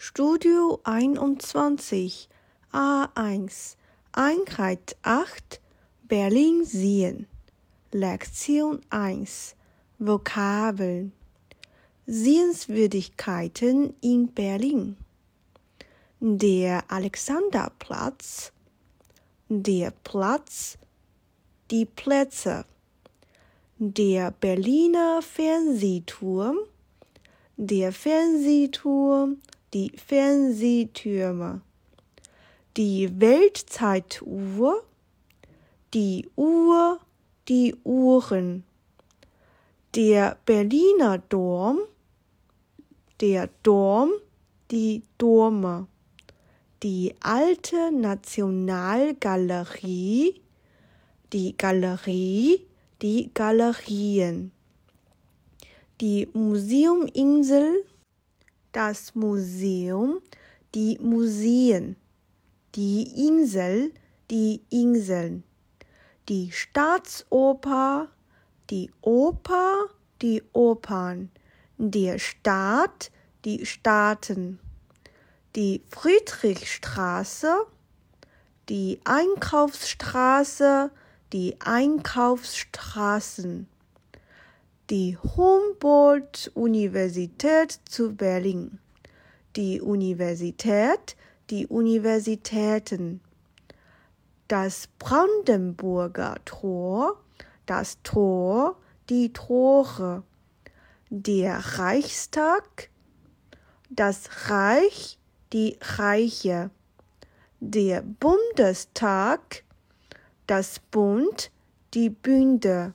Studio 21 A1 Einheit 8 Berlin sehen. Lektion 1 Vokabeln Sehenswürdigkeiten in Berlin. Der Alexanderplatz, der Platz, die Plätze, der Berliner Fernsehturm, der Fernsehturm, die Fernsehtürme, die Weltzeituhr, die Uhr, die Uhren, der Berliner Dom, der Dom, die Dome, die Alte Nationalgalerie, die Galerie, die Galerien, die Museuminsel, das Museum, die Museen, die Insel, die Inseln, die Staatsoper, die Oper, die Opern, der Staat, die Staaten, die Friedrichstraße, die Einkaufsstraße, die Einkaufsstraßen, die Humboldt-Universität zu Berlin, die Universität, die Universitäten, das Brandenburger Tor, das Tor, die Tore, der Reichstag, das Reich, die Reiche, der Bundestag, das Bund, die Bünde,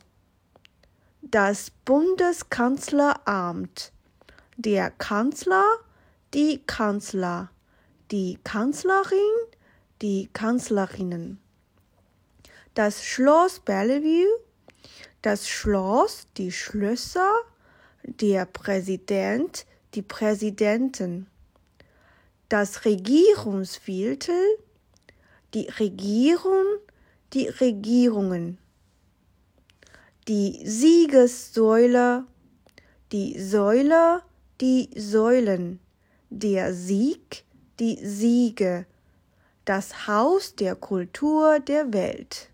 das Bundeskanzleramt, der Kanzler, die Kanzler, die Kanzlerin, die Kanzlerinnen, das Schloss Bellevue, das Schloss, die Schlösser, der Präsident, die Präsidenten, das Regierungsviertel, die Regierung, die Regierungen, die Siegessäule, die Säule, die Säulen, der Sieg, die Siege, das Haus der Kultur der Welt.